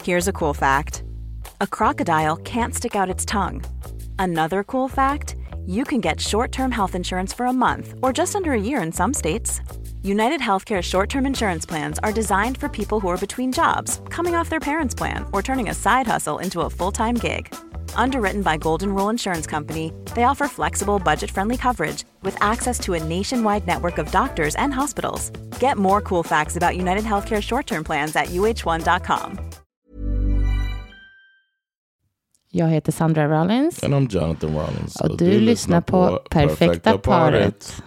Here's a cool fact. A crocodile can't stick out its tongue. Another cool fact, you can get short-term health insurance for a month or just under a year in some states. United Healthcare short-term insurance plans are designed for people who are between jobs, coming off their parents' plan, or turning a side hustle into a full-time gig. Underwritten by Golden Rule Insurance Company, they offer flexible, budget-friendly coverage with access to a nationwide network of doctors and hospitals. Get more cool facts about United Healthcare short-term plans at uh1.com. Jag heter Sandra Rollins. And I'm Jonathan Rollins. Och du lyssnar på Perfekta paret.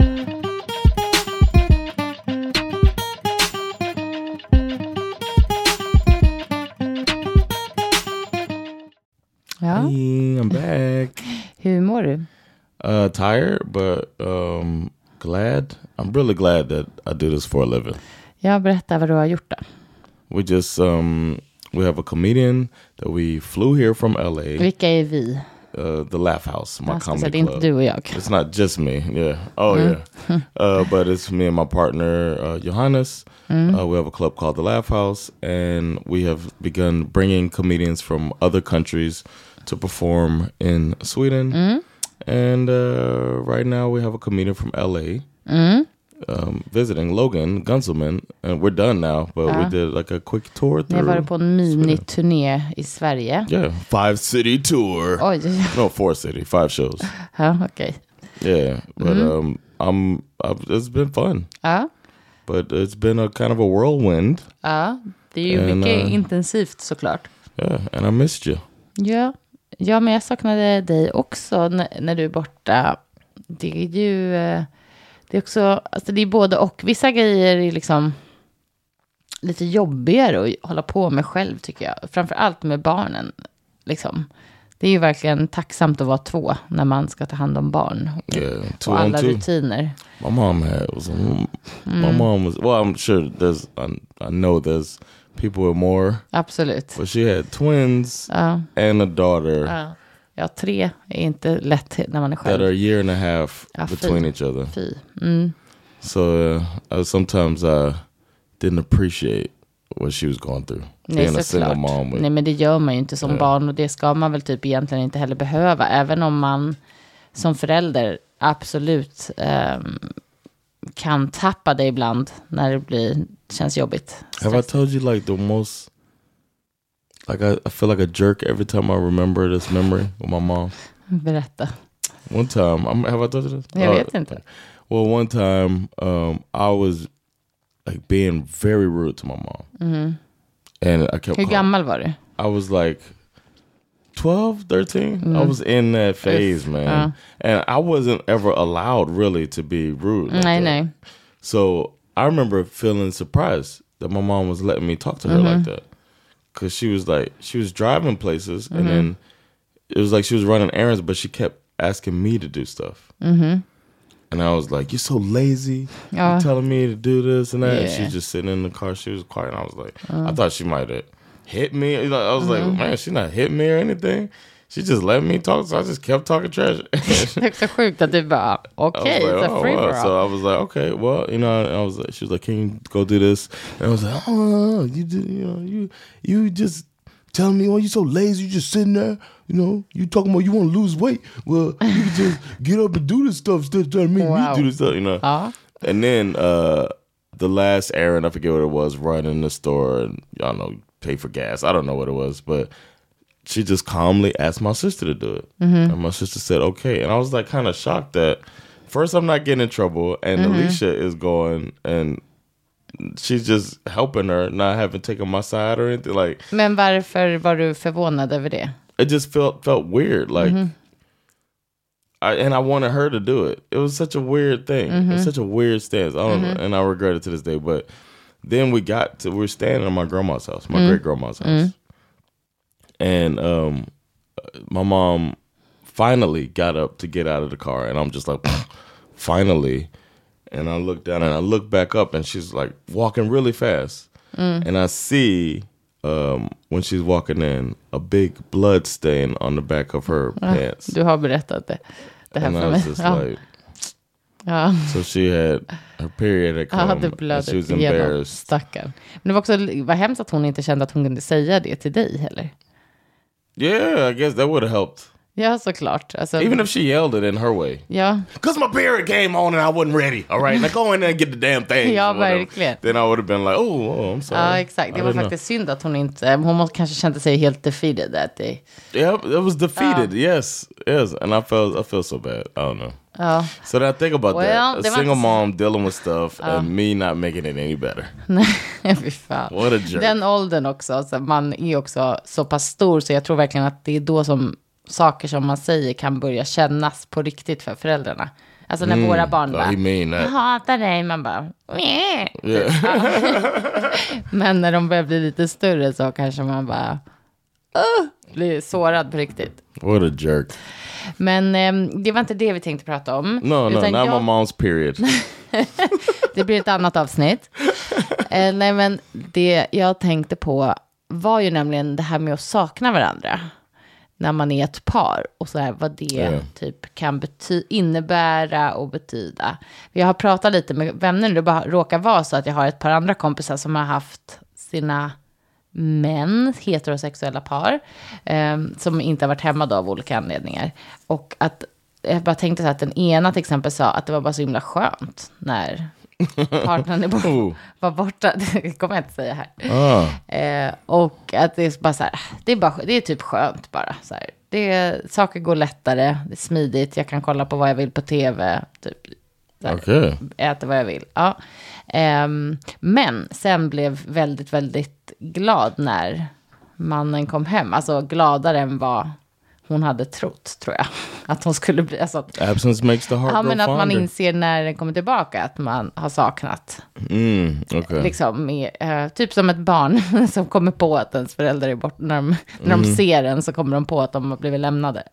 Ja. Hey, I'm back. Hur mår du? Tired, but glad. I'm really glad that I do this for a living. Jag berättar vad du har gjort då. We just we have a comedian that we flew here from LA. Vilka är vi? The Laugh House, my comedy det är inte club. du och jag. It's not just me, yeah. Oh yeah, but it's me and my partner Johannes. We have a club called the Laugh House, and we have begun bringing comedians from other countries to perform in Sweden. And right now we have a comedian from LA visiting, Logan Gunselman, and we're done now, but we did like a quick tour through. Ni var på en mini-turné i Sverige. Yeah, 5-city tour. Oj. No, 4-city, 5 shows. Ja, okej. Yeah, but it's been fun. Ja. But it's been a kind of a whirlwind. Ja, det är ju mycket intensivt såklart. Yeah, and I missed you. Ja, men jag saknade dig också när du är borta. Det är ju... Det är också... Alltså det är både och. Vissa grejer är liksom lite jobbigare att hålla på med själv, tycker jag. Framförallt med barnen, liksom. Det är ju verkligen tacksamt att vara 2 när man ska ta hand om barn. Yeah, och alla rutiner. My mom was... Well, I'm sure there's... I know there's people with more. Absolut. But she had twins and a daughter. Ja, 3 är inte lätt när man är själv. That are a year and a half between each other. So sometimes I didn't appreciate what she was going through. Nej, såklart. Nej, men det gör man ju inte som barn. Och det ska man väl typ egentligen inte heller behöva. Även om man som förälder absolut kan tappa det ibland när det känns jobbigt. Have I told you like the most... Like I feel like a jerk every time I remember this memory with my mom. Berätta. One time, have I told you this? Jag vet inte. Well, one time I was like being very rude to my mom. And I kept... Hur gammal var du? I was like 12, 13. I was in that phase, man. And I wasn't ever allowed really to be rude. Nej. So I remember feeling surprised that my mom was letting me talk to her like that. Because she was driving places, and then it was like she was running errands, but she kept asking me to do stuff. And I was like, "You're so lazy. You're telling me to do this and that." And she's just sitting in the car. She was quiet. And I was like, I thought she might have hit me. I was like, man, she's not hit me or anything. She just let me talk, so I just kept talking trash. Det är så sjukt att du bara, okay, it's a free for all. So I was like, okay, well, she was like, can you go do this? And I was like, oh, you just telling me, you're so lazy, you just sitting there, you talking about you want to lose weight. Well, you can just get up and do this stuff instead of telling me to do this stuff, And then the last errand, I forget what it was, run in the store and, I don't know, pay for gas. I don't know what it was, but she just calmly asked my sister to do it. And my sister said, okay. And I was like kind of shocked that first I'm not getting in trouble and Alicia is going and she's just helping her, not having taken my side or anything. Like, men varför var du förvånad över det? It just felt weird. Like, I wanted her to do it. It was such a weird thing. It was such a weird stance. I don't know, and I regret it to this day. But then we were staying at my grandma's house, my great grandma's house. And my mom finally got up to get out of the car. And I'm just like, finally. And I look down and I look back up and she's like walking really fast. And I see when she's walking in a big blood stain on the back of her pants. Du har berättat det här and för I mig. was just like, Ja. So she had her period had come. Det And blödde she was igenom, embarrassed. stackarn. Men det var också var hemskt att hon inte kände att hon kunde säga det till dig heller. Yeah, I guess that would have helped. Ja, såklart. Alltså, Even if she yelled it in her way. ja, Because my period came on and I wasn't ready. All right, now go in there and get the damn thing. Ja, or whatever. verkligen. Then I would have been like, oh, I'm sorry. ja, exakt. Det I var didn't know. faktiskt synd att hon inte... Hon kanske kände sig helt defeated that day. Yeah, it was defeated. Yes, and I feel so bad. I don't know. Ja. So that I think about Well, that. A det var single inte så- mom dealing with stuff and me not making it any better. Nej, fy fan. What a jerk. Den åldern också. Alltså, man är också så pass stor så jag tror verkligen att det är då som saker som man säger kan börja kännas på riktigt för föräldrarna. Alltså när våra barn bara, he mean that. jag hatar dig, man bara, "Meh." Yeah. Men när de börjar bli lite större så kanske man bara blir sårad på riktigt. What a jerk. Men det var inte det vi tänkte prata om. No, Utan not my mom's period. Det blir ett annat avsnitt. Nej, men det jag tänkte på var ju nämligen det här med att sakna varandra. När man är ett par. Och så här, vad det typ kan innebära och betyda. Jag har pratat lite med vänner. Det bara råkar vara så att jag har ett par andra kompisar som har haft sina män, heterosexuella par. Som inte har varit hemma då av olika anledningar. Och att jag bara tänkte så att den ena till exempel sa att det var bara så himla skönt när partnern var borta. Det kommer jag inte säga här. Och att det är bara så här, det är typ skönt bara. Så här. Saker går lättare, det är smidigt, jag kan kolla på vad jag vill på tv. Typ, Okay. Äta vad jag vill. Ja. Men sen blev väldigt, väldigt glad när mannen kom hem. Alltså gladare än vad hon hade trott, tror jag. Att hon skulle bli... Alltså, Absence makes the heart ja, grow men att man fonder. inser när den kommer tillbaka att man har saknat. Okay. Liksom, typ som ett barn som kommer på att ens föräldrar är bort. När de ser en så kommer de på att de har blivit lämnade.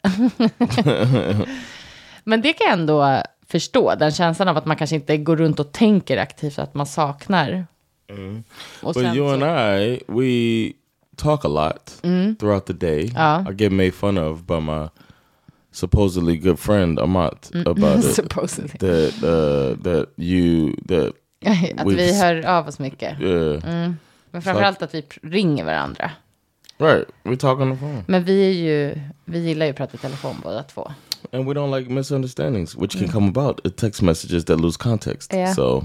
Men det kan jag ändå förstå. Den känslan av att man kanske inte går runt och tänker aktivt att man saknar. Och But you and I, we talk a lot throughout the day. I get made fun of by my supposedly good friend Amat about it. Supposedly. That Att vi hör av oss mycket. Yeah. Men framförallt att vi ringer varandra. Right. We talk on the phone. Men vi gillar ju att prata i telefon båda två. And we don't like misunderstandings, which can come about in text messages that lose context. Yeah. So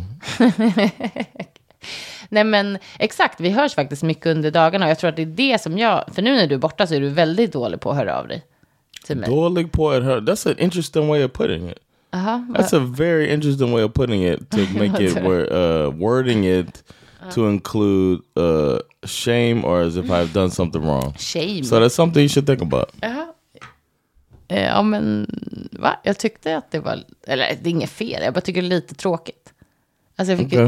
Nej, men exakt, vi hörs faktiskt mycket under dagarna. Och jag tror att det är det som för nu när du är borta så är du väldigt dålig på att höra av dig till mig. dålig på att höra. That's an interesting way of putting it. That's a very interesting way of putting it, to make it wording it to include shame or as if I've done something wrong. Shame. So that's something you should think about. Ja, men va? Jag tyckte att det var... Eller det är inget fel, jag bara tycker det är lite tråkigt. Alltså jag fick Okay.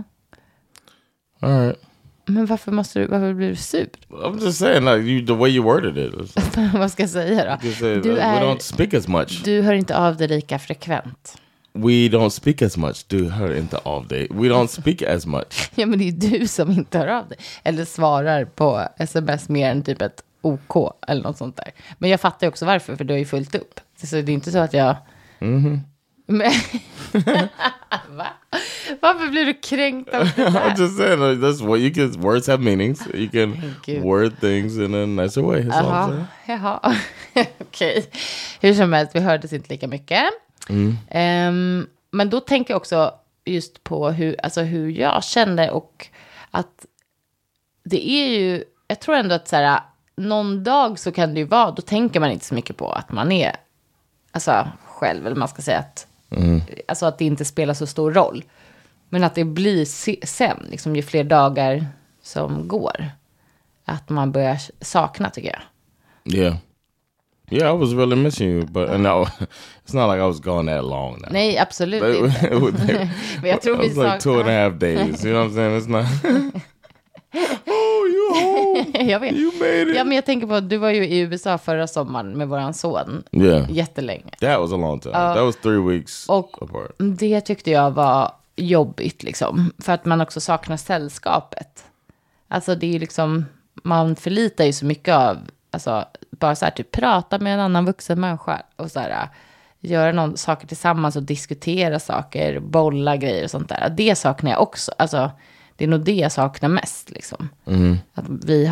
Ja. All right. Men varför blir du sur? I'm just saying, like the way you worded it. Vad ska jag säga då? You said, we don't speak as much. Du hör inte av dig lika frekvent. We don't speak as much. Du hör inte av dig. We don't speak as much. Ja, men det är du som inte hör av dig. Eller svarar på sms mer än typ ett OK eller något sånt där. Men jag fattar ju också varför, för du har ju fullt upp. Så det är inte så att jag... Men... Va? Varför blir du kränkt av det där? I'm just saying, like, that's what you can. Words have meanings. You can you. word things in a nicer way. That's all I'm saying. Jaha. Okej. Hur som helst, vi hördes inte lika mycket. Men då tänker jag också just på hur jag kände, och att det är ju, jag tror ändå att så här, någon dag så kan det ju vara, då tänker man inte så mycket på att man är själv, eller man ska säga att alltså att det inte spelar så stor roll, men att det blir sen liksom, ju fler dagar som går, att man börjar sakna, tycker jag. Yeah, I was really missing you, but no, it's not like I was gone that long now. Nej, absolut inte. Men jag tror vi it was like 2.5 days. You know what I'm saying? It's not. Oh, you home? Jag vet. You made it. Ja, men jag tänker på att du var ju i USA förra sommaren med våran son. Jättelänge. That was a long time. That was 3 weeks och apart. Det tyckte jag var jobbigt liksom. För att man också saknar sällskapet. Alltså det är liksom, man förlitar ju så mycket av, alltså bara så här typ prata med en annan vuxen människa och så här göra saker tillsammans och diskutera saker, bolla grejer och sånt där. Det saknar jag också. Alltså, det är nog det jag saknar mest liksom. Att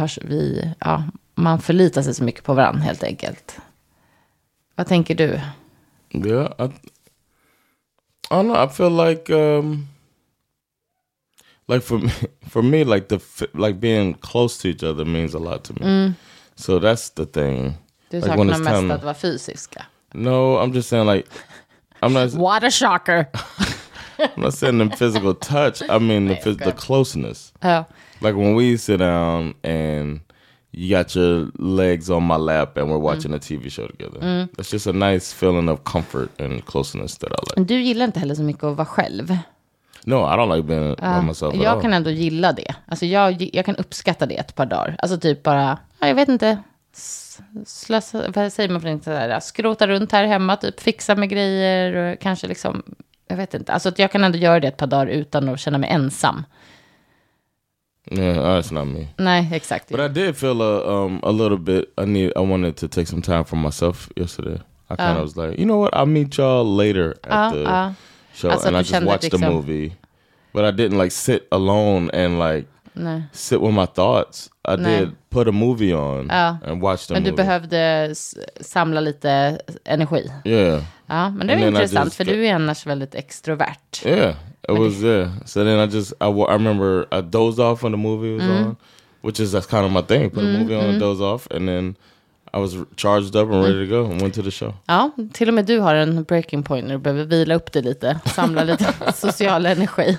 man förlitar sig så mycket på varandra helt enkelt. Vad tänker du? Yeah, I don't know. I feel like for me, like being close to each other means a lot to me. So that's the thing. Du saknar mest att vara fysiska. No, I'm just saying like I'm not. What a shocker! I'm not saying the physical touch. I mean the closeness. Ja. Like when we sit down and you got your legs on my lap and we're watching a TV show together. It's just a nice feeling of comfort and closeness that I like. Du gillar inte heller så mycket att vara själv. No, I don't like being by myself at all. Jag kan ändå gilla det. Alltså jag kan uppskatta det ett par dagar. Alltså typ bara, jag vet inte, vad säger man för inte sådär, skrota runt här hemma, typ fixa med grejer och kanske liksom, jag vet inte. Alltså att jag kan ändå göra det ett par dagar utan att känna mig ensam. Yeah, that's not me. Nej, exakt. But I did feel a little bit. I wanted to take some time for myself yesterday. I kind of was like, you know what? I'll meet y'all later at the show, alltså, and I just watched the movie. But I didn't like sit alone and like sit with my thoughts. I did put a movie on and watch the movie. Men du behövde samla lite energi. Yeah. Ja, men det är intressant för du är annars väldigt extrovert. Yeah. It was so then I remember I dozed off when the movie was on, which is that's kind of my thing. Put a movie on and doze off, and then I was charged up and ready to go and went to the show. Ja, till och med du har en breaking point när du behöver vila upp det lite, samla lite social energi.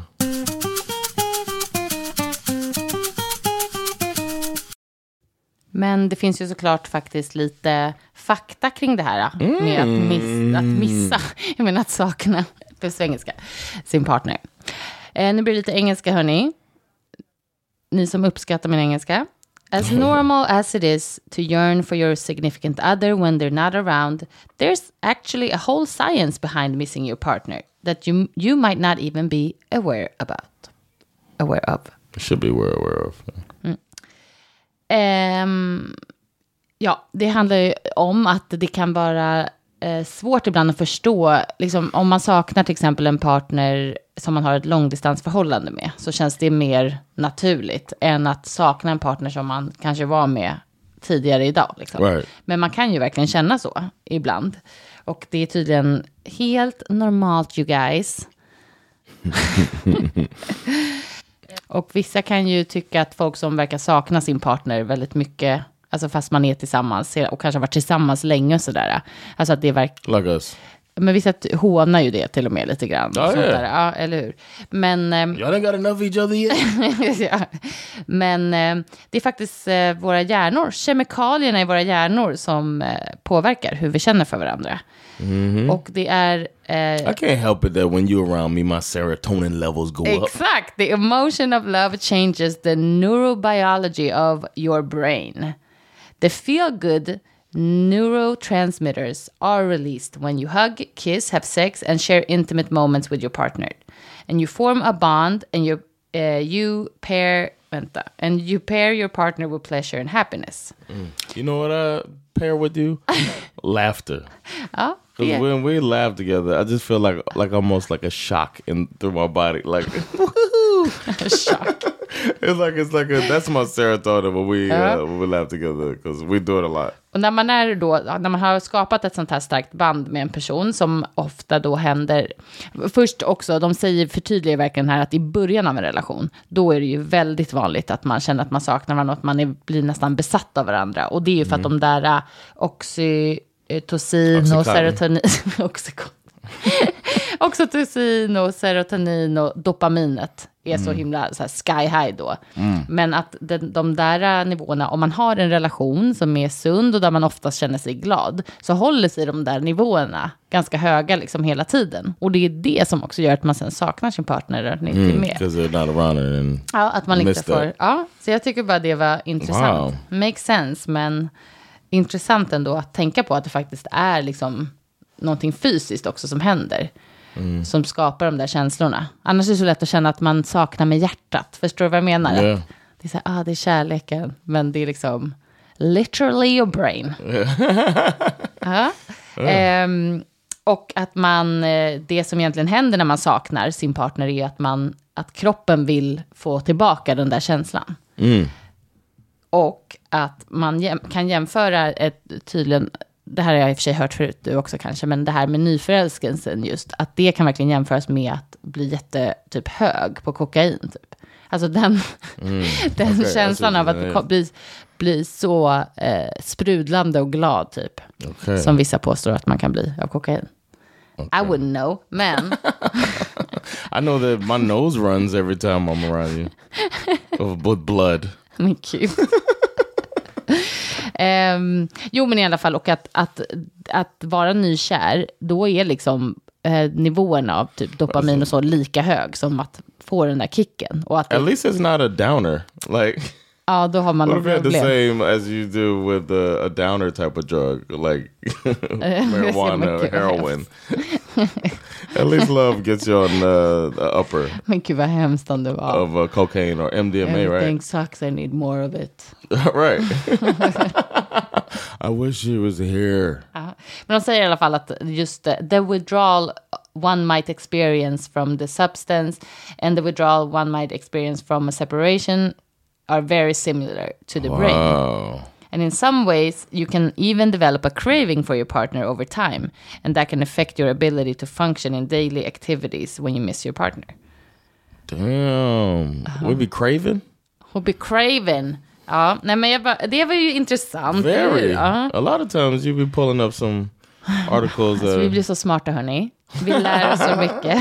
Men det finns ju såklart faktiskt lite fakta kring det här med att missa, jag menar att sakna på svengelska, sin partner. Nu blir det lite engelska, hörni. Ni som uppskattar min engelska. As normal as it is to yearn for your significant other when they're not around, there's actually a whole science behind missing your partner that you might not even be aware of. Should be aware of. Ja, det handlar ju om att det kan vara svårt ibland att förstå, liksom, om man saknar till exempel en partner som man har ett långdistansförhållande med, så känns det mer naturligt än att sakna en partner som man kanske var med tidigare idag. Liksom. Right. Men man kan ju verkligen känna så ibland. Och det är tydligen helt normalt, you guys. Och vissa kan ju tycka att folk som verkar sakna sin partner väldigt mycket, alltså fast man är tillsammans och kanske har varit tillsammans länge och sådär. Alltså att det verkar... Like us. Men vissa hånar ju det till och med lite grann. Oh, yeah. Ja, eller hur? Men... Y'all ain't got enough of each other yet. Ja. Men det är faktiskt våra hjärnor, kemikalierna i våra hjärnor som påverkar hur vi känner för varandra. Och det är... I can't help it that when you're around me, my serotonin levels go up. Exakt. The emotion of love changes the neurobiology of your brain. The feel-good neurotransmitters are released when you hug, kiss, have sex, and share intimate moments with your partner. And you form a bond, and you pair your partner with pleasure and happiness. You know what I pair with you? Laughter. Ja. Because when we laugh together, I just feel like almost like a shock through my body, like shock. it's like that's my serotonin when we laugh together, because we do it a lot. Och när man har skapat ett sånt här starkt band med en person, som ofta då händer, först också, de förtydligar verkligen här att i början av en relation, då är det ju väldigt vanligt att man känner att man saknar varandra och att man blir nästan besatt av varandra. Och det är ju för att de där oxytocin och serotonin oxytocin och serotonin och dopaminet är så himla så här sky high då. Men att de där nivåerna, om man har en relation som är sund och där man oftast känner sig glad, så håller sig de där nivåerna ganska höga liksom hela tiden. Och det är det som också gör att man sen saknar sin partner och inte är med. Because they're not around and att man inte får... Ja, så jag tycker bara det var intressant. Wow. Makes sense, men intressant ändå att tänka på att det faktiskt är liksom någonting fysiskt också som händer. Som skapar de där känslorna. Annars är det så lätt att känna att man saknar med hjärtat. Förstår du vad jag menar? Yeah. Det är så här, det är kärleken. Men det är liksom literally your brain. Och att man, det som egentligen händer när man saknar sin partner är att kroppen vill få tillbaka den där känslan. Och att man kan jämföra tydligen, det här har jag i och för sig hört förut du också kanske, men det här med nyförälskelsen just, att det kan verkligen jämföras med att bli typ hög på kokain typ. Alltså den känslan av att bli så sprudlande och glad typ. Som vissa påstår att man kan bli av kokain. I wouldn't know, men I know that my nose runs every time I'm around you with blood. Men kul. Jo, men i alla fall, och att vara nykär, då är liksom nivåerna av typ dopamin och så lika hög som att få den där kicken. Och att at least it's not a downer. Like, ja, då har man what if you had the problem. same as you do with a downer type of drug, like marijuana or heroin? At least love gets you on the upper. Men gud vad hemskt om det var. Of cocaine or MDMA, Everything right? sucks, I need more of it. Right. I wish she was here. Men de säger i alla fall att just the withdrawal one might experience from the substance and the withdrawal one might experience from a separation are very similar to the brain. And in some ways, you can even develop a craving for your partner over time. And that can affect your ability to function in daily activities when you miss your partner. Damn. We be craving? We'll be craving. Ja, nej men det var ju intressant. Very. Ja. A lot of times you be pulling up some articles. Alltså, vi blir så smarta, hörni. Vi lär oss så mycket.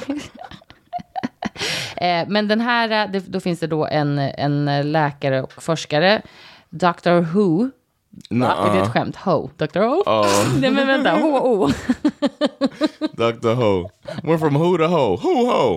Men den här, då finns det då en läkare och forskare, Dr. Who. Är det ett skämt? Ho. Dr. Ho? Nej men vänta, H-O. Dr. Ho. Went from who to ho. Who-ho.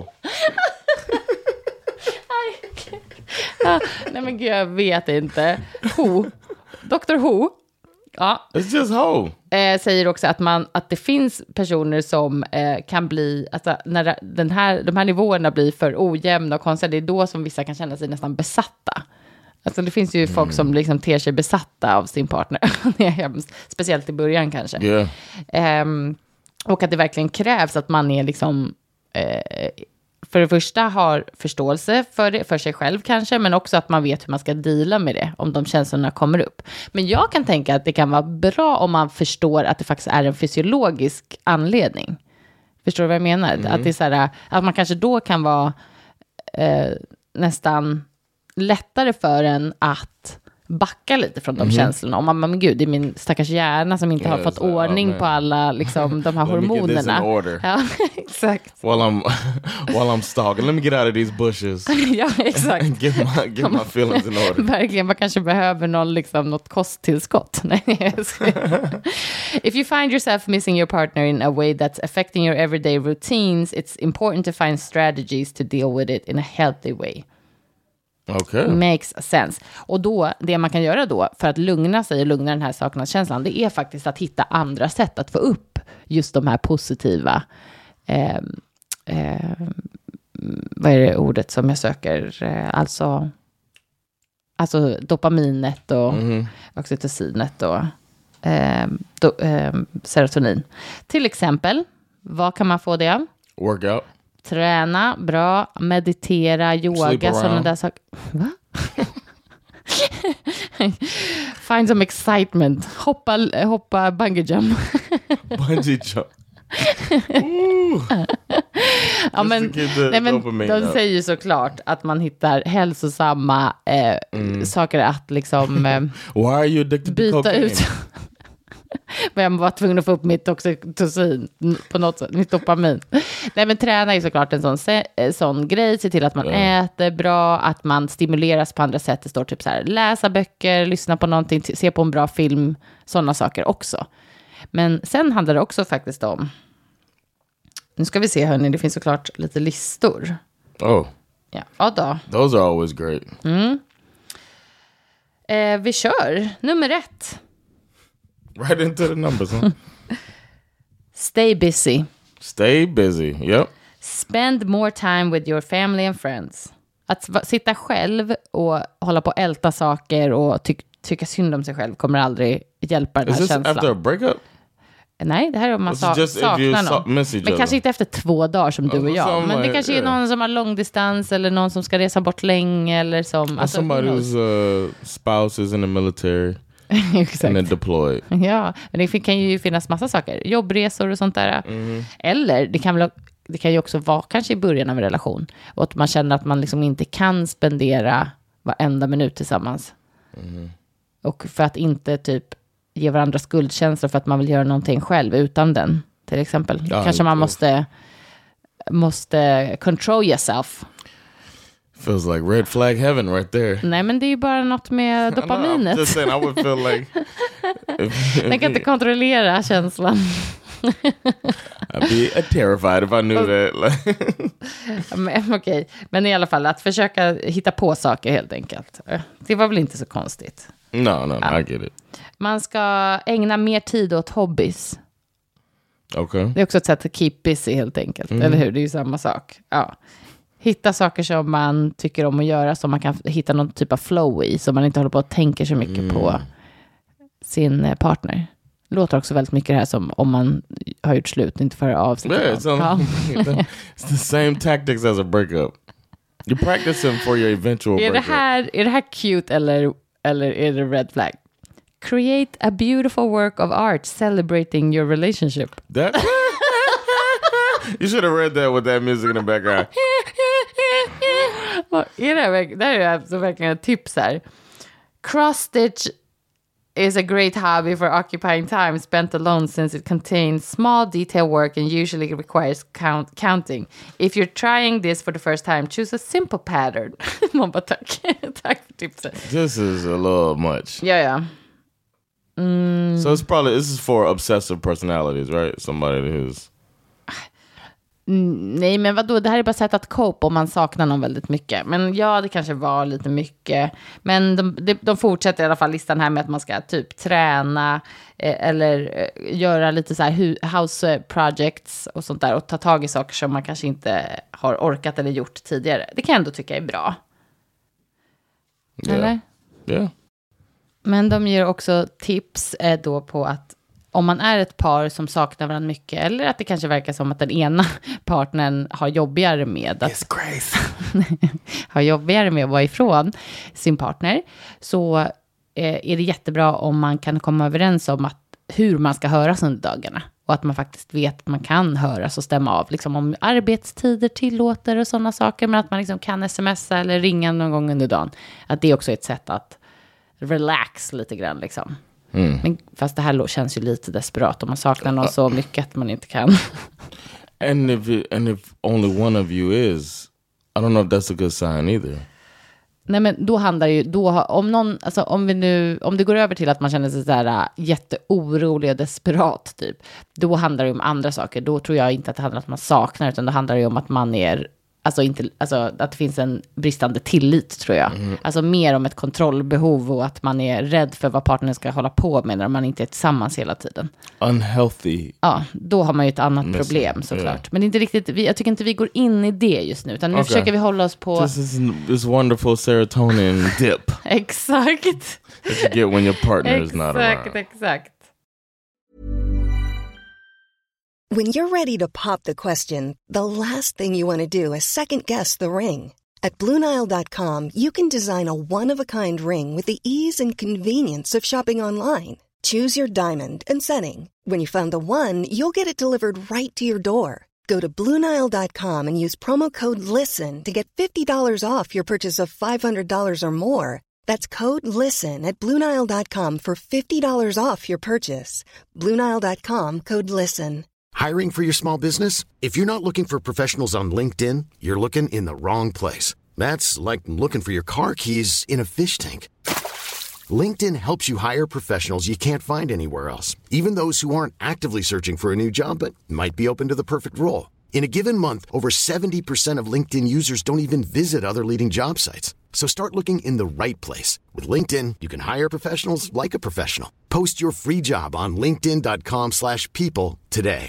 Nej men gud, jag vet inte. Who. Dr. Who. Ja. It's just ho. Säger också att det finns personer som kan bli, alltså när de här nivåerna blir för ojämna och konstiga, det är då som vissa kan känna sig nästan besatta. Alltså det finns ju folk som liksom ter sig besatta av sin partner. Det är hemskt. Speciellt i början kanske. Yeah. Och att det verkligen krävs att man är liksom för det första har förståelse för sig själv kanske, men också att man vet hur man ska deala med det om de känslorna kommer upp. Men jag kan tänka att det kan vara bra om man förstår att det faktiskt är en fysiologisk anledning. Förstår du vad jag menar? Att det är så här, att man kanske då kan vara nästan lättare för en att backa lite från de känslorna. Om man, men gud, det är min stackars hjärna som inte har fått ordning på alla liksom, de här hormonerna. Ja, exakt. While I'm stalking, let me get out of these bushes. Ja, exakt. Get my feelings in order. Verkligen, man kanske behöver något kosttillskott. If you find yourself missing your partner in a way that's affecting your everyday routines, it's important to find strategies to deal with it in a healthy way. Okay. Makes sense. Och då, det man kan göra då för att lugna sig och lugna den här saknadskänslan, det är faktiskt att hitta andra sätt att få upp just de här positiva vad är det ordet som jag söker? Alltså dopaminet och oxytocinet och serotonin. Till exempel, vad kan man få det av? Workout. Träna, bra, meditera, yoga, sådana där saker. Va? Find some excitement. Hoppa bungee jump. Bungee jump. Ja, men de säger ju såklart att man hittar hälsosamma saker att liksom Why are you addicted byta to cocaine? ut. Men jag var tvungen att få upp mitt oxytocin på något sätt, mitt dopamin. Nej, men träna är såklart en sån grej. Se till att man äter bra, att man stimuleras på andra sätt. Det står typ så här, läsa böcker, lyssna på någonting, se på en bra film, sådana saker också. Men sen handlar det också faktiskt om, nu ska vi se hörni, det finns såklart lite listor. Oh. Ja då. Those are always great. Vi kör, nummer 1. Right into the numbers, huh? Stay busy. Stay busy, yep. Spend more time with your family and friends. Att sitta själv och hålla på att älta saker och tycka synd om sig själv kommer aldrig hjälpa den här Is this känslan. after a breakup? Nej, det här är om man saknar någon. Men kanske inte efter 2 dagar som du och jag. Men det kanske är någon som har långdistans eller någon som ska resa bort länge. Eller som, alltså, somebody whose spouse is in the military. Exakt. And then deployed. Ja, men det kan ju finnas massa saker. Jobbresor och sånt där. Eller det kan ju också vara kanske i början av en relation. Och att man känner att man liksom inte kan spendera varenda minut tillsammans. Och för att inte typ ge varandra skuldkänslor för att man vill göra någonting själv utan den. Till exempel. Kanske man måste control yourself. Feels like red flag heaven right there. Nej, men det är ju bara något med dopaminet. I'm just saying, I would feel like... Den kan inte kontrollera känslan. I'd be terrified if I knew that. Men, okej. Men i alla fall, att försöka hitta på saker helt enkelt. Det var väl inte så konstigt. No, I get it. Man ska ägna mer tid åt hobbies. Okay. Det är också ett sätt att keep busy helt enkelt. Eller hur? Det är ju samma sak. Ja. Hitta saker som man tycker om att göra, som man kan hitta någon typ av flow i, så man inte håller på att tänka så mycket på sin partner. Det låter också väldigt mycket det här som om man har gjort slut, inte för av sig. Yeah, it's the same tactics as a breakup. You practice them for your eventual breakup. Är det här cute eller är det red flag? Create a beautiful work of art celebrating your relationship. That you should have read that with that music in the background. Det här är alltså verkligen ett tips här. Cross stitch is a great hobby for occupying time spent alone, since it contains small detail work and usually requires counting. If you're trying this for the first time, choose a simple pattern. Man bara tack för tipset. This is a little much. Ja. So this is for obsessive personalities, right? Somebody who's... Nej, men vadå? Det här är bara sätt att cope om man saknar någon väldigt mycket. Men ja, det kanske var lite mycket. Men de fortsätter i alla fall listan här med att man ska typ träna eller göra lite så här house projects och sånt där. Och ta tag i saker som man kanske inte har orkat eller gjort tidigare. Det kan jag ändå tycka är bra. Yeah. Eller? Yeah. Men de ger också tips då på att om man är ett par som saknar varandra mycket, eller att det kanske verkar som att den ena partnern har jobbigare med att har jobbigare med att vara ifrån sin partner, så är det jättebra om man kan komma överens om hur man ska höras under dagarna. Och att man faktiskt vet att man kan höras och stämma av. Liksom om arbetstider tillåter och sådana saker. Men att man liksom kan smsa eller ringa någon gång under dagen. Att det är också ett sätt att relax lite grann liksom. Men fast det här känns ju lite desperat om man saknar någon så mycket att man inte kan. And if only one of you is, I don't know if that's a good sign either. Nej, men då handlar ju om någon, alltså om det går över till att man känner sig så här jätteorolig och desperat typ, då handlar det om andra saker. Då tror jag inte att det handlar om att man saknar, utan då handlar det om att man är att det finns en bristande tillit, tror jag. Alltså mer om ett kontrollbehov och att man är rädd för vad partnern ska hålla på med när man inte är tillsammans hela tiden. Unhealthy. Ja, då har man ju ett annat problem såklart. Yeah. Men det är inte riktigt, jag tycker inte vi går in i det just nu, utan nu försöker vi hålla oss på this wonderful serotonin dip. Exakt. That you get when your partner is not around. Exakt. When you're ready to pop the question, the last thing you want to do is second-guess the ring. At BlueNile.com, you can design a one-of-a-kind ring with the ease and convenience of shopping online. Choose your diamond and setting. When you find the one, you'll get it delivered right to your door. Go to BlueNile.com and use promo code LISTEN to get $50 off your purchase of $500 or more. That's code LISTEN at BlueNile.com for $50 off your purchase. BlueNile.com, code LISTEN. Hiring for your small business? If you're not looking for professionals on LinkedIn, you're looking in the wrong place. That's like looking for your car keys in a fish tank. LinkedIn helps you hire professionals you can't find anywhere else, even those who aren't actively searching for a new job but might be open to the perfect role. In a given month, over 70% of LinkedIn users don't even visit other leading job sites. So start looking in the right place. With LinkedIn, you can hire professionals like a professional. Post your free job on linkedin.com/people today.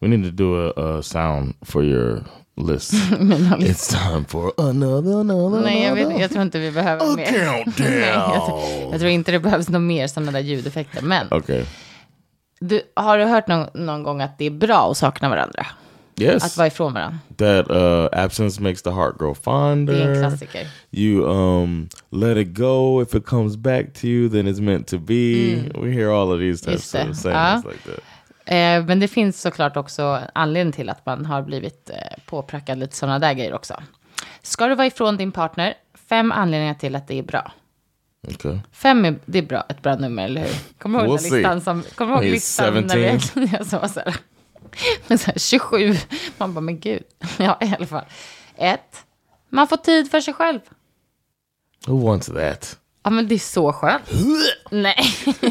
We need to do a sound for your list. It's time for another. Nej, jag tror inte vi behöver mer. Countdown. Jag tror inte det behövs något mer sådana där ljudeffekter. Men Okay. Har du hört någon gång att det är bra att sakna varandra? Yes. Att vara ifrån varandra. That absence makes the heart grow fonder. Det är en klassiker. You let it go. If it comes back to you, then it's meant to be. We hear all of these types of sayings like that. Men det finns såklart också anledning till att man har blivit påprackad lite sådana där grejer också. Ska du vara ifrån din partner? 5 anledningar till att det är bra. Okay. 5 det är bra, ett bra nummer, eller hur? Kommer du ihåg listan kommer du ihåg listan när jag sa så här? Men så här 27. Man bara, men gud. Ja, i alla fall. 1. Man får tid för sig själv. Who wants that? Ja, men det är så skönt. Nej.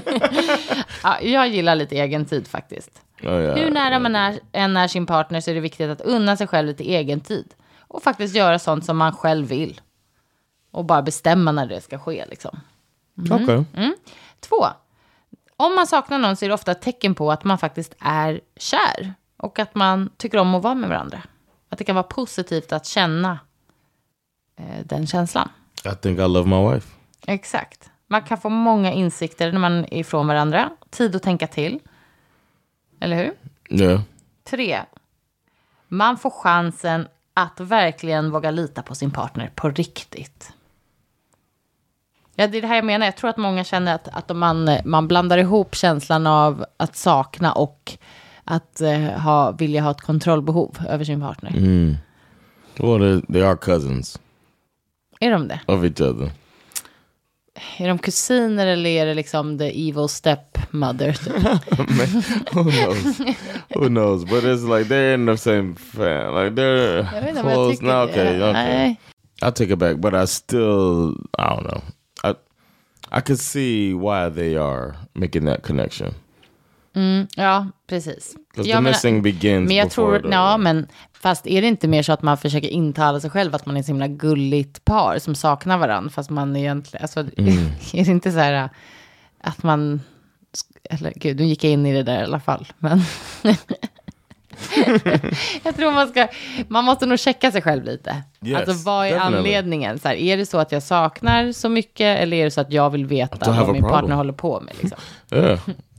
Ja, jag gillar lite egen tid faktiskt. Hur nära man är sin partner så är det viktigt att unna sig själv lite egen tid. Och faktiskt göra sånt som man själv vill. Och bara bestämma när det ska ske liksom. Okay. 2. Om man saknar någon så är det ofta ett tecken på att man faktiskt är kär. Och att man tycker om att vara med varandra. Att det kan vara positivt att känna den känslan. I think I love my wife. Exakt. Man kan få många insikter när man är ifrån varandra. Tid att tänka till. Eller hur? Yeah. 3. Man får chansen att verkligen våga lita på sin partner på riktigt. Ja, det är det här jag menar. Jag tror att många känner att man blandar ihop känslan av att sakna och att vilja ha ett kontrollbehov över sin partner. Well, they are cousins. Är de det? Of each other. Är de kusiner eller är det liksom the evil stepmother? Who knows? Who knows? But it's like they're in the same family. Like they're close. No, okay. I'll take it back. But I don't know. I could see why they are making that connection. Ja, precis. Because the missing begins men jag before tror, men fast är det inte mer så att man försöker intala sig själv att man är så himla gulligt par som saknar varandra, fast man egentligen, alltså, är det inte så här att man, eller gud, nu gick jag in i det där i alla fall, men jag tror man måste nog checka sig själv lite. Yes, alltså vad är definitely. Anledningen? Så här, är det så att jag saknar så mycket eller är det så att jag vill veta vad min partner håller på med liksom? Yeah.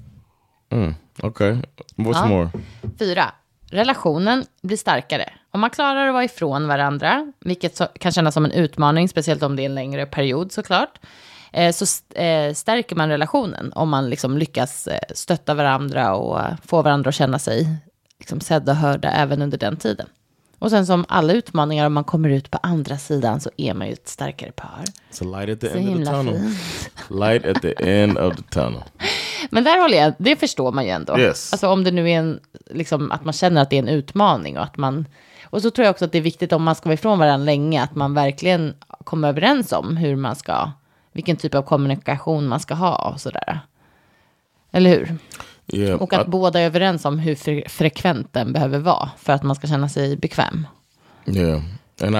Okay. What's more? 4. Relationen blir starkare. Om man klarar att vara ifrån varandra, vilket kan kännas som en utmaning, speciellt om det är en längre period såklart, så stärker man relationen om man liksom lyckas stötta varandra och få varandra att känna sig liksom sedda och hörda även under den tiden. Och sen som alla utmaningar, om man kommer ut på andra sidan så är man ju ett starkare par. It's a light at the end of the tunnel. Light at the end of the tunnel. Men där håller jag, det förstår man ju ändå. Yes. Alltså om det nu är liksom, att man känner att det är en utmaning och så tror jag också att det är viktigt om man ska vara ifrån varandra länge att man verkligen kommer överens om vilken typ av kommunikation man ska ha och sådär. Eller hur? Yeah, och att båda är överens om hur frekvent den behöver vara för att man ska känna sig bekväm. Yeah. And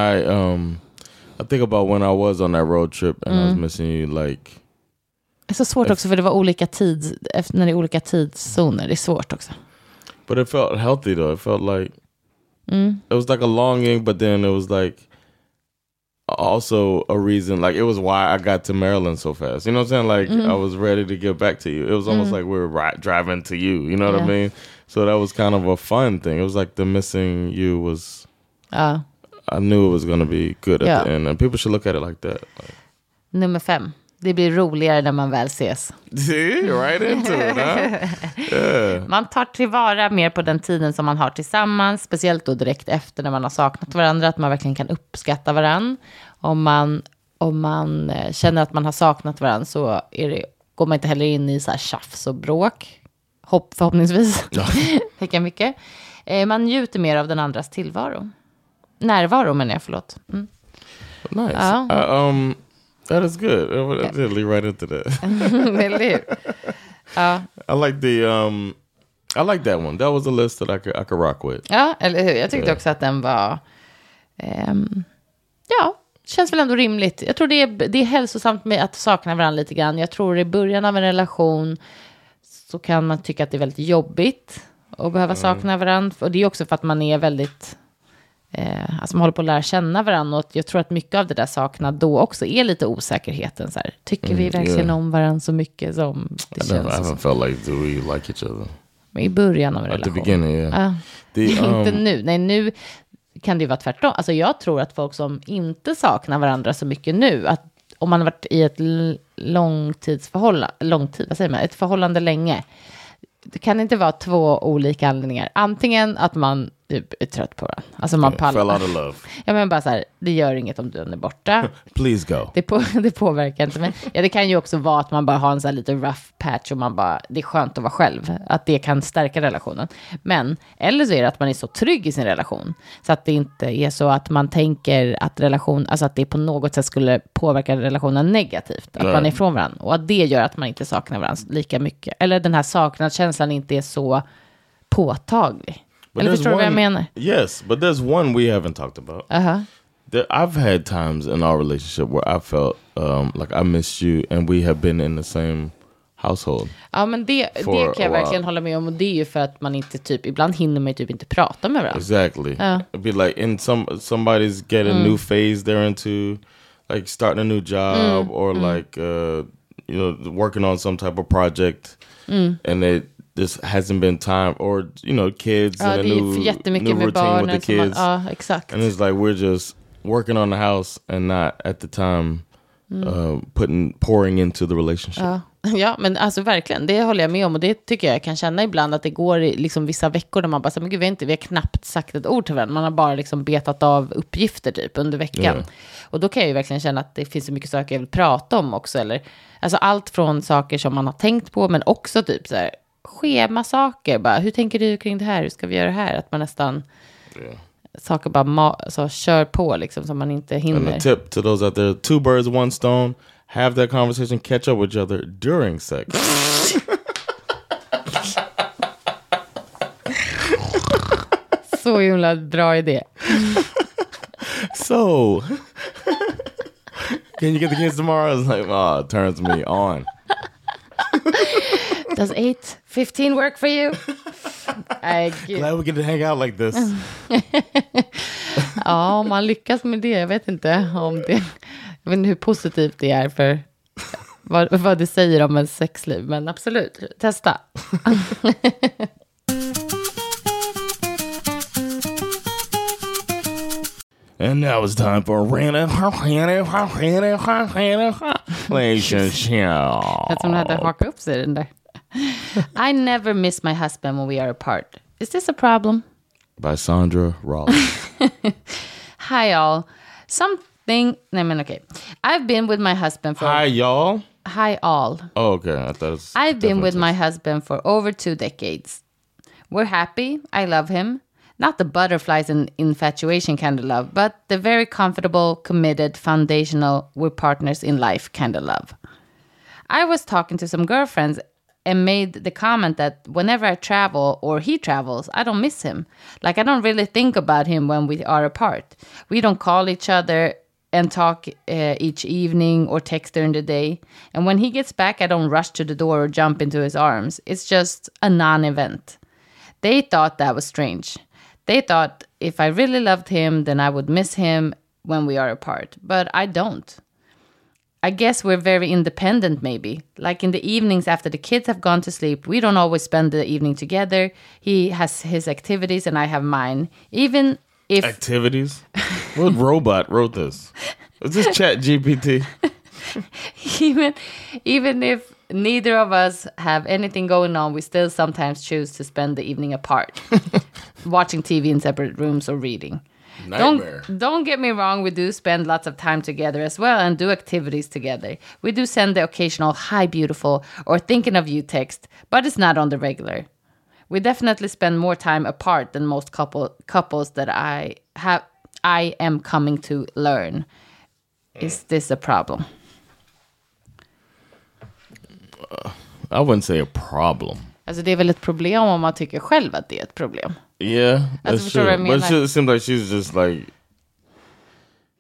I think about when I was on that road trip and I was missing you like. Det är så svårt också för det var när det är olika tidszoner. Det är svårt också. But it felt healthy though. It felt like it was like a longing, but then it was like also a reason, like it was why I got to Maryland so fast. You know what I'm saying? Like I was ready to get back to you. It was almost like we were driving to you. You know what I mean? So that was kind of a fun thing. It was like the missing you was. I knew it was going to be good at the end, and people should look at it like that. Like. Nummer 5. Det blir roligare när man väl ses. See, right into it, huh? Yeah. Man tar tillvara mer på den tiden som man har tillsammans. Speciellt då direkt efter när man har saknat varandra. Att man verkligen kan uppskatta varandra. Om man känner att man har saknat varandra så går man inte heller in i så här tjafs och bråk. Förhoppningsvis. Tänker mycket. Man njuter mer av den andras tillvaro. Närvaro menar jag, förlåt. Nice. That is good. I did lead right into that. Eller hur? I like that one. That was a list that I could rock with. Ja, eller hur? Jag tyckte också att den var känns väl ändå rimligt. Jag tror det är hälsosamt med att sakna varandra lite grann. Jag tror i början av en relation så kan man tycka att det är väldigt jobbigt och behöva sakna varandra. Och det är också för att man är väldigt... alltså man håller på att lära känna varandra. Och jag tror att mycket av det där saknad då också är lite osäkerheten. Så här. Tycker vi verkligen om varandra så mycket som det känns? I haven't felt like, do we like each other? Men i början av en relation. At the beginning, yeah. Inte nu. Nej, nu kan det ju vara tvärtom. Alltså jag tror att folk som inte saknar varandra så mycket nu, att om man har varit i ett ett förhållande länge, det kan inte vara två olika anledningar. Antingen att man är trött på varandra. Alltså man pallar. Fell out of love. Ja, men bara så här, det gör inget om du är borta. Please go. Det påverkar inte. Men ja, det kan ju också vara att man bara har en så här lite rough patch och man bara, det är skönt att vara själv. Att det kan stärka relationen. Men, eller så är det att man är så trygg i sin relation. Så att det inte är så att man tänker att alltså att det på något sätt skulle påverka relationen negativt. Att man är ifrån varandra. Och att det gör att man inte saknar varandra lika mycket. Eller den här saknadskänslan inte är så påtaglig. But Eller förstår du vad jag menar? Yes, but there's one we haven't talked about. I've had times in our relationship where I felt like I missed you and we have been in the same household. Ja, men det kan jag verkligen hålla med om. Och det är ju för att man inte ibland hinner man ju inte prata med varandra. Exactly. It'd be like in somebody's get a new phase they're into, like starting a new job or like working on some type of project and this hasn't been time, or kids and a new routine with the kids. Exakt. And it's like we're just working on the house and not at the time pouring into the relationship. Ja, men alltså verkligen, det håller jag med om. Och det tycker jag kan känna ibland, att det går liksom vissa veckor där man bara, men gud, vi har knappt sagt ett ord till varandra. Man har bara liksom betat av uppgifter typ under veckan. Och då kan jag ju verkligen känna att det finns så mycket saker jag vill prata om också. Eller, alltså allt från saker som man har tänkt på, men också typ så här schemasaker. Bara, hur tänker du kring det här? Hur ska vi göra det här? Att man nästan... saker bara så kör på liksom, som man inte hinner. And a tip to those out there, 2 birds, 1 stone. Have that conversation, catch up with each other during sex. Så himla bra idé. So, can you get the kids tomorrow? It's like, it turns me on. Does 8:15 work for you? Glad we get to hang out like this. Ja, om man lyckas med det. Jag vet inte hur positivt det är för vad det säger om en sexliv. Men absolut, testa. And now it's time for relationship. Jag som hade hakat upp sig den där. I never miss my husband when we are apart. Is this a problem? By Sandra Rollins. Hi all. Okay. I've been with my husband for... Hi y'all? Hi all. Oh, okay. I thought it was... I've been with my husband for over 2 decades. We're happy. I love him. Not the butterflies and infatuation kind of love, but the very comfortable, committed, foundational, we're partners in life kind of love. I was talking to some girlfriends and made the comment that whenever I travel or he travels, I don't miss him. Like, I don't really think about him when we are apart. We don't call each other and talk each evening or text during the day. And when he gets back, I don't rush to the door or jump into his arms. It's just a non-event. They thought that was strange. They thought if I really loved him, then I would miss him when we are apart. But I don't. I guess we're very independent, maybe. Like in the evenings after the kids have gone to sleep, we don't always spend the evening together. He has his activities and I have mine. Even if... Activities? What robot wrote this? Is this ChatGPT? Even if neither of us have anything going on, we still sometimes choose to spend the evening apart. Watching TV in separate rooms or reading. Nightmare. Don't get me wrong, we do spend lots of time together as well and do activities together. We do send the occasional hi beautiful or thinking of you text, but it's not on the regular. We definitely spend more time apart than most couples that I am coming to learn. Is this a problem? I wouldn't say a problem. Alltså det är väl ett problem om man tycker själv att det är ett problem. Yeah, alltså, that's true. But it seems like she's just like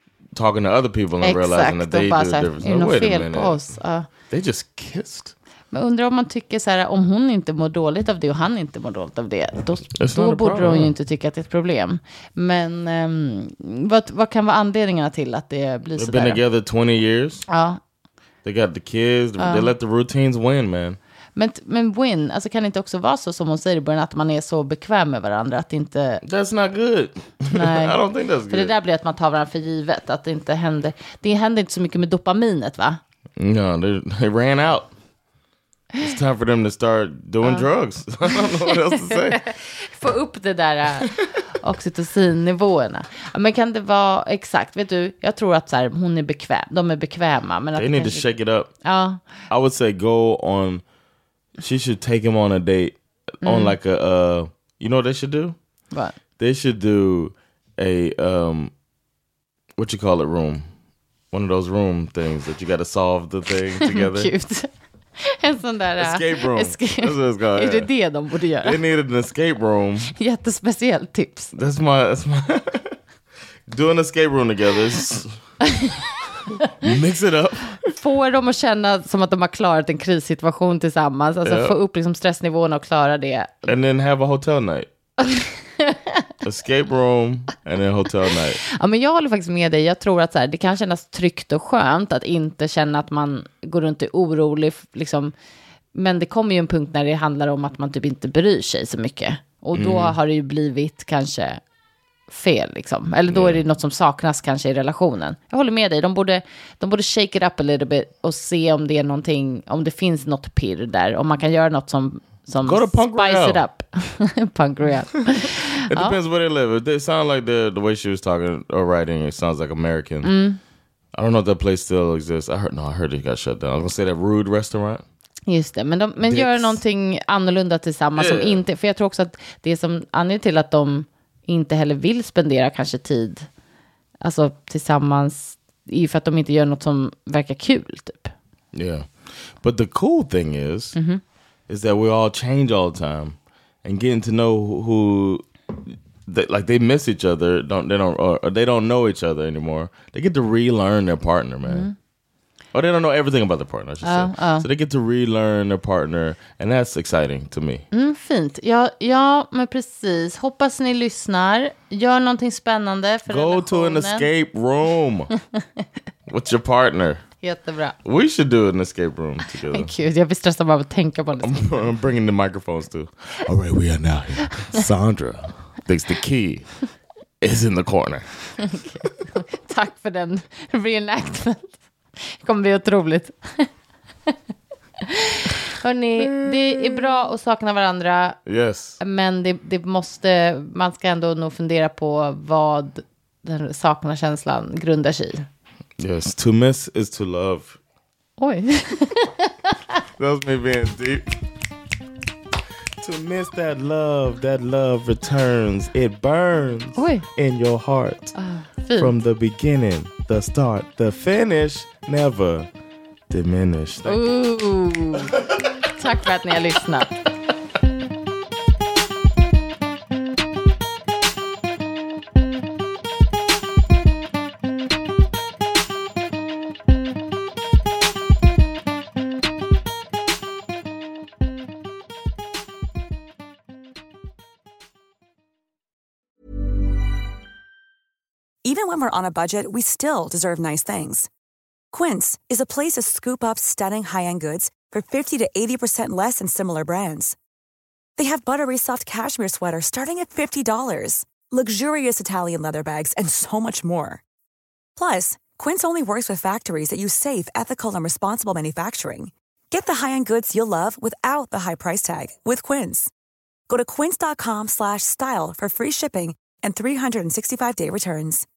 talking to other people and realizing that they do different. Wait a minute. They just kissed. Men undrar om man tycker så här, om hon inte mår dåligt av det och han inte mår dåligt av det, då borde hon ju inte tycka att det är ett problem. Men vad kan vara anledningarna till att det blir så där? They've been together 20 years. Ja. They got the kids. They let the routines win, man. Men win, alltså kan det inte också vara så som hon säger i början, att man är så bekväm med varandra att det inte... That's not good. Nej. I don't think that's good. För det där blir att man tar varandra för givet, att det inte händer. Det händer inte så mycket med dopaminet, va? No, they ran out. It's time for them to start doing drugs. I don't know what else to say. Få upp det där oxytocinnivåerna. Ja, men kan det vara exakt, vet du, jag tror att så här, hon är bekväm, de är bekväma, men they need to shake it up. Ja. I would say go on. She should take him on a date on like a you know what they should do? What? They should do a what you call it room. One of those room things that you got to solve the thing together. Cute. En sån där escape room. That's what it's called. Är det de borde göra? They needed an escape room. Jättespeciellt tips. That's my do an escape room together. Mix it up. Få dem att känna som att de har klarat en krissituation tillsammans. Alltså få upp liksom stressnivån och klara det. And then have a hotel night. Escape room and then hotel night. Ja, men jag håller faktiskt med dig. Jag tror att så här, det kan kännas tryggt och skönt att inte känna att man går runt och är orolig. Liksom. Men det kommer ju en punkt när det handlar om att man typ inte bryr sig så mycket. Och då har det ju blivit kanske fel liksom. Eller då är det något som saknas kanske i relationen. Jag håller med dig. De borde shake it up a little bit och se om det är någonting, om det finns något pirr där. Om man kan göra något som spice it up. Punk Royale. It depends where they live. If they sound like the way she was talking or writing, it sounds like American. I don't know if that place still exists. I heard it got shut down. I was gonna say that Rude restaurant. Just det, men gör någonting annorlunda tillsammans som inte, för jag tror också att det som anledning till att de inte heller vill spendera kanske tid alltså tillsammans är ju för att de inte gör något som verkar kul typ. Yeah. But the cool thing is that we all change all the time and getting to know who they miss each other, they don't know each other anymore. They get to relearn their partner, man. Or they don't know everything about their partner, I should say. So they get to relearn their partner, and that's exciting to me. Fint. Ja, men precis. Hoppas ni lyssnar. Gör någonting spännande för relationen. Go to an escape room with your partner. Jättebra. We should do an escape room together. Men gud, jag blir stressad bara av att tänka på det. I'm bringing the microphones too. All right, we are now here. Sandra thinks the key is in the corner. Tack för den reenactment. Det kommer bli otroligt. Hörrni, det är bra att sakna varandra. Yes. Men det måste, man ska ändå nog fundera på vad den sakna känslan grundar sig i. Yes, to miss is to love. Oj. That's me being deep. To miss that love returns. It burns in your heart. From the beginning, the start, the finish, never diminish. Tack för att ni har lyssnat. Even when we're on a budget, we still deserve nice things. Quince is a place to scoop up stunning high-end goods for 50 to 80% less than similar brands. They have buttery soft cashmere sweaters starting at $50, luxurious Italian leather bags, and so much more. Plus, Quince only works with factories that use safe, ethical, and responsible manufacturing. Get the high-end goods you'll love without the high price tag with Quince. Go to quince.com/style for free shipping and 365-day returns.